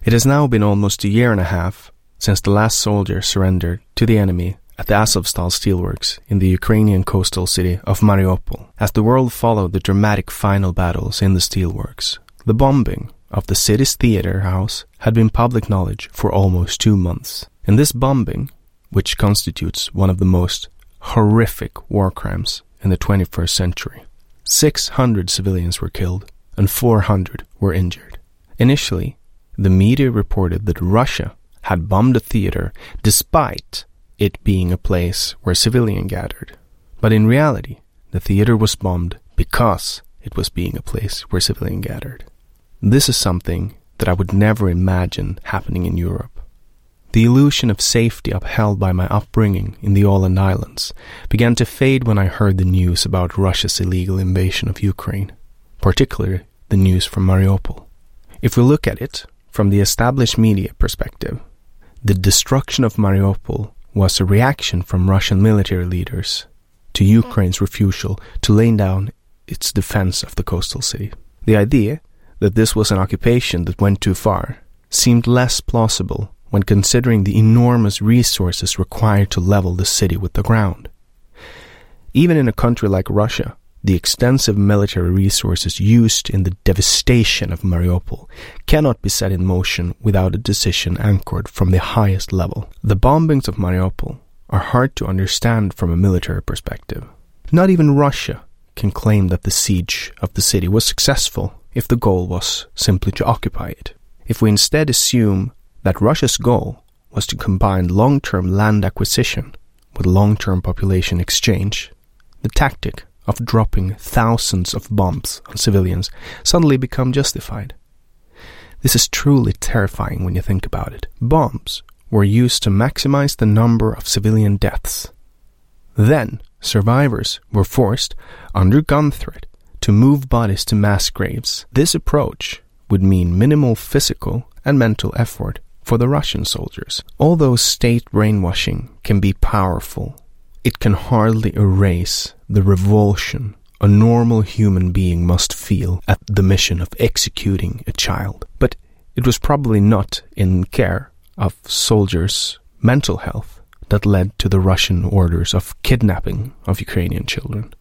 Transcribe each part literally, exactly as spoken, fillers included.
It has now been almost a year and a half since the last soldier surrendered to the enemy at the Azovstal steelworks in the Ukrainian coastal city of Mariupol. As the world followed the dramatic final battles in the steelworks, the bombing of the city's theater house had been public knowledge for almost two months. In this bombing, which constitutes one of the most horrific war crimes in the twenty-first century, six hundred civilians were killed and four hundred were injured. Initially, the media reported that Russia had bombed a theater despite it being a place where civilians gathered. But in reality, the theater was bombed because it was being a place where civilians gathered. This is something that I would never imagine happening in Europe. The illusion of safety upheld by my upbringing in the Åland Islands began to fade when I heard the news about Russia's illegal invasion of Ukraine, particularly the news from Mariupol. If we look at it from the established media perspective, the destruction of Mariupol was a reaction from Russian military leaders to Ukraine's refusal to lay down its defense of the coastal city. The idea that this was an occupation that went too far seemed less plausible when considering the enormous resources required to level the city with the ground. Even in a country like Russia, the extensive military resources used in the devastation of Mariupol cannot be set in motion without a decision anchored from the highest level. The bombings of Mariupol are hard to understand from a military perspective. Not even Russia can claim that the siege of the city was successful if the goal was simply to occupy it. If we instead assume that Russia's goal was to combine long-term land acquisition with long-term population exchange, the tactic of dropping thousands of bombs on civilians suddenly become justified. This is truly terrifying when you think about it. Bombs were used to maximize the number of civilian deaths. Then, survivors were forced, under gun threat, to move bodies to mass graves. This approach would mean minimal physical and mental effort for the Russian soldiers. Although state brainwashing can be powerful, it can hardly erase the revulsion a normal human being must feel at the mission of executing a child. But it was probably not in care of soldiers' mental health that led to the Russian orders of kidnapping of Ukrainian children.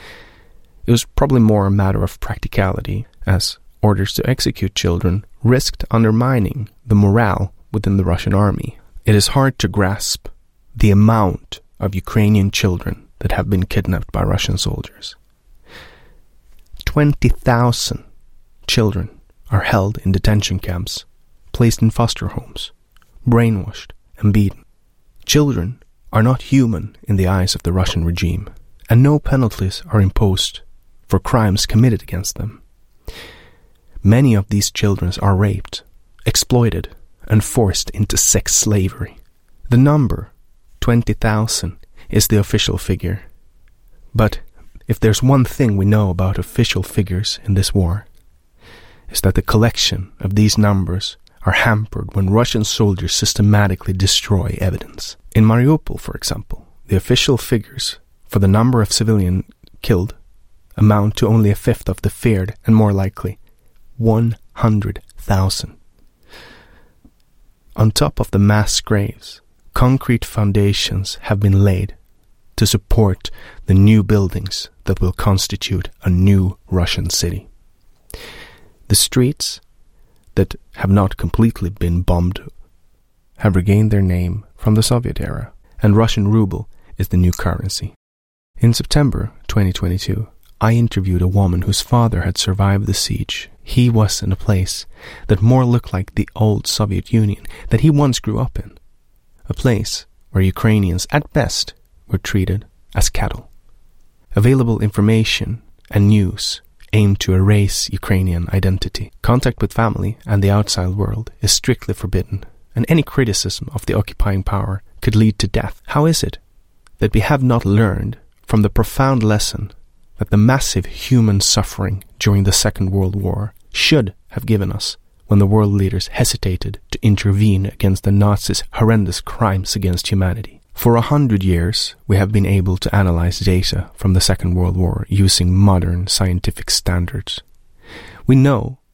It was probably more a matter of practicality, as orders to execute children risked undermining the morale within the Russian army. It is hard to grasp the amount of Ukrainian children that have been kidnapped by Russian soldiers. twenty thousand children are held in detention camps, placed in foster homes, brainwashed and beaten. Children are not human in the eyes of the Russian regime, and no penalties are imposed for crimes committed against them. Many of these children are raped, exploited, and forced into sex slavery. The number, twenty thousand, is the official figure. But if there's one thing we know about official figures in this war, is that the collection of these numbers are hampered when Russian soldiers systematically destroy evidence. In Mariupol, for example, the official figures for the number of civilians killed amount to only a fifth of the feared and more likely one hundred thousand. On top of the mass graves, concrete foundations have been laid to support the new buildings that will constitute a new Russian city. The streets that have not completely been bombed have regained their name from the Soviet era, and Russian ruble is the new currency. In September twenty twenty-two, I interviewed a woman whose father had survived the siege. He was in a place that more looked like the old Soviet Union that he once grew up in, a place where Ukrainians at best were treated as cattle. Available information and news aim to erase Ukrainian identity. Contact with family and the outside world is strictly forbidden, and any criticism of the occupying power could lead to death. How is it that we have not learned from the profound lesson that the massive human suffering during the Second World War should have given us when the world leaders hesitated to intervene against the Nazis' horrendous crimes against humanity? For a hundred years, we have been able to analyze data from the Second World War using modern scientific standards. We know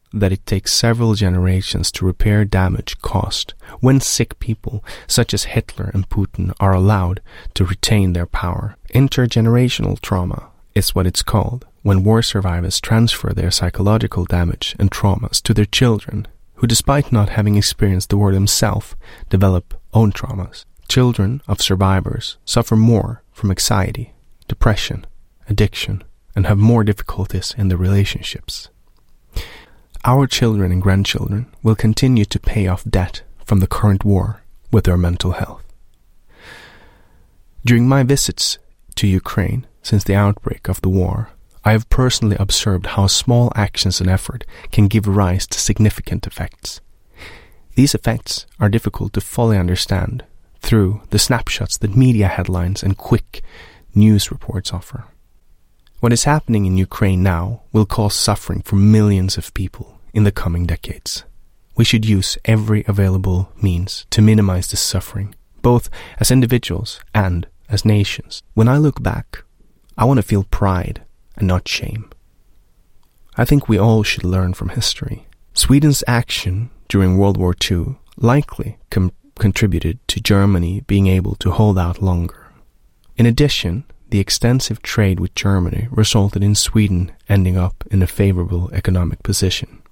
that it takes several generations to repair damage caused when sick people such as Hitler and Putin are allowed to retain their power. Intergenerational trauma is what it's called when war survivors transfer their psychological damage and traumas to their children, who, despite not having experienced the war themselves, develop own traumas. Children of survivors suffer more from anxiety, depression, addiction, and have more difficulties in their relationships. Our children and grandchildren will continue to pay off debt from the current war with their mental health. During my visits to Ukraine since the outbreak of the war, I have personally observed how small actions and effort can give rise to significant effects. These effects are difficult to fully understand through the snapshots that media headlines and quick news reports offer. What is happening in Ukraine now will cause suffering for millions of people in the coming decades. We should use every available means to minimize this suffering, both as individuals and as nations. When I look back, I want to feel pride and not shame. I think we all should learn from history. Sweden's action during World War Two likely com- contributed to Germany being able to hold out longer. In addition, the extensive trade with Germany resulted in Sweden ending up in a favorable economic position.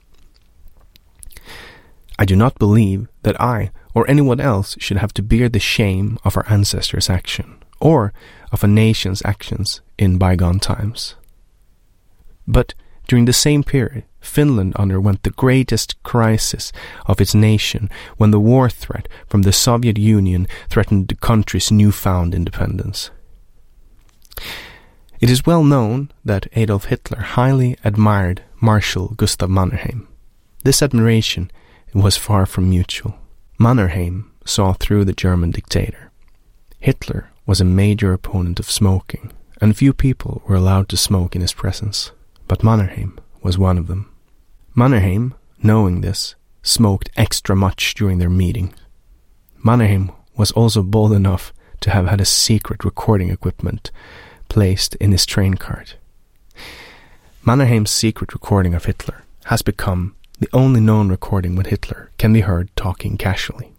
I do not believe that I or anyone else should have to bear the shame of our ancestors' action or of a nation's actions in bygone times. But during the same period, Finland underwent the greatest crisis of its nation when the war threat from the Soviet Union threatened the country's newfound independence. It is well known that Adolf Hitler highly admired Marshal Gustav Mannerheim. This admiration was far from mutual. Mannerheim saw through the German dictator. Hitler was a major opponent of smoking, and few people were allowed to smoke in his presence, but Mannerheim was one of them. Mannerheim, knowing this, smoked extra much during their meeting. Mannerheim was also bold enough to have had a secret recording equipment placed in his train cart. Mannerheim's secret recording of Hitler has become the only known recording when Hitler can be heard talking casually.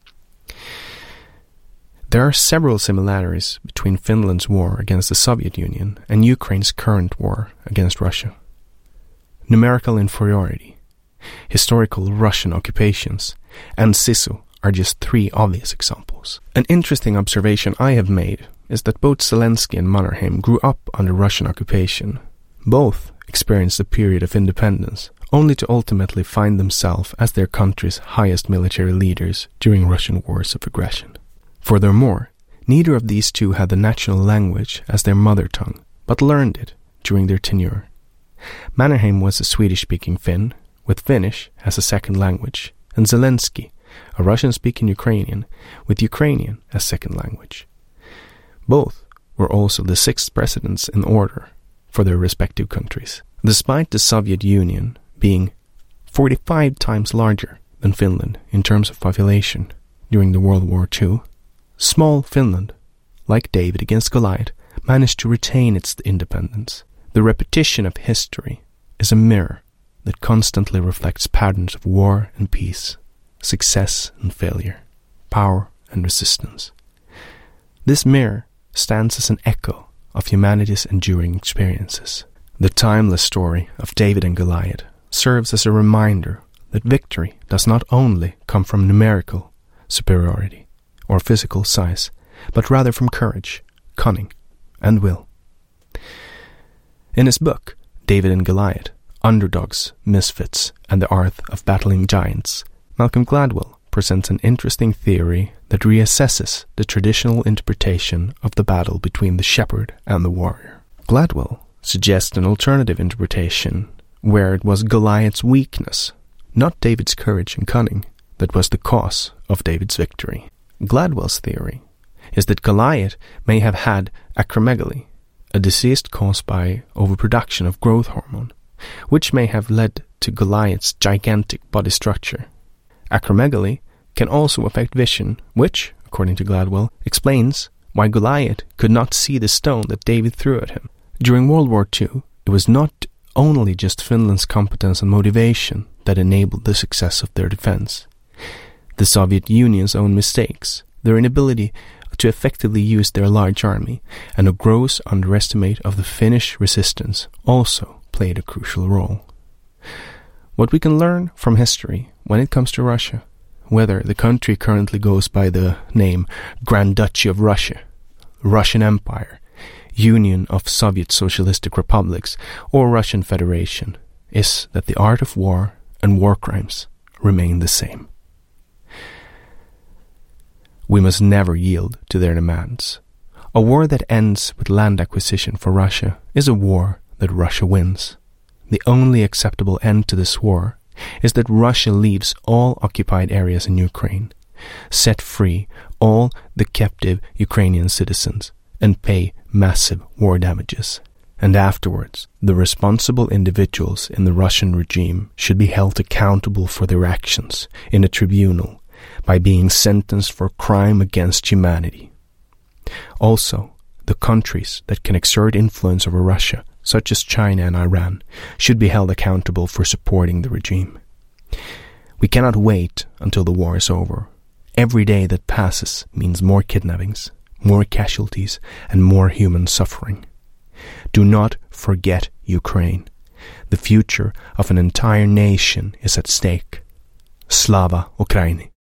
There are several similarities between Finland's war against the Soviet Union and Ukraine's current war against Russia. Numerical inferiority, historical Russian occupations, and SISU are just three obvious examples. An interesting observation I have made is that both Zelensky and Mannerheim grew up under Russian occupation. Both experienced a period of independence, only to ultimately find themselves as their country's highest military leaders during Russian wars of aggression. Furthermore, neither of these two had the national language as their mother tongue, but learned it during their tenure. Mannerheim was a Swedish-speaking Finn, with Finnish as a second language, and Zelensky, a Russian-speaking Ukrainian, with Ukrainian as second language. Both were also the sixth presidents in order for their respective countries. Despite the Soviet Union being forty-five times larger than Finland in terms of population during the World War Two, small Finland, like David against Goliath, managed to retain its independence. The repetition of history is a mirror that constantly reflects patterns of war and peace, success and failure, power and resistance. This mirror stands as an echo of humanity's enduring experiences. The timeless story of David and Goliath serves as a reminder that victory does not only come from numerical superiority or physical size, but rather from courage, cunning, and will. In his book, David and Goliath, Underdogs, Misfits, and the Art of Battling Giants, Malcolm Gladwell presents an interesting theory that reassesses the traditional interpretation of the battle between the shepherd and the warrior. Gladwell suggests an alternative interpretation where it was Goliath's weakness, not David's courage and cunning, that was the cause of David's victory. Gladwell's theory is that Goliath may have had acromegaly, a disease caused by overproduction of growth hormone, which may have led to Goliath's gigantic body structure. Acromegaly can also affect vision, which, according to Gladwell, explains why Goliath could not see the stone that David threw at him. During World War Two, it was not only just Finland's competence and motivation that enabled the success of their defense. The Soviet Union's own mistakes, their inability to effectively use their large army, and a gross underestimate of the Finnish resistance also played a crucial role. What we can learn from history when it comes to Russia, whether the country currently goes by the name Grand Duchy of Russia, Russian Empire, Union of Soviet Socialistic Republics, or Russian Federation, is that the art of war and war crimes remain the same. We must never yield to their demands. A war that ends with land acquisition for Russia is a war that Russia wins. The only acceptable end to this war is that Russia leaves all occupied areas in Ukraine, set free all the captive Ukrainian citizens, and pay massive war damages. And afterwards, the responsible individuals in the Russian regime should be held accountable for their actions in a tribunal by being sentenced for crime against humanity. Also, the countries that can exert influence over Russia, such as China and Iran, should be held accountable for supporting the regime. We cannot wait until the war is over. Every day that passes means more kidnappings, more casualties, and more human suffering. Do not forget Ukraine. The future of an entire nation is at stake. Slava Ukraini.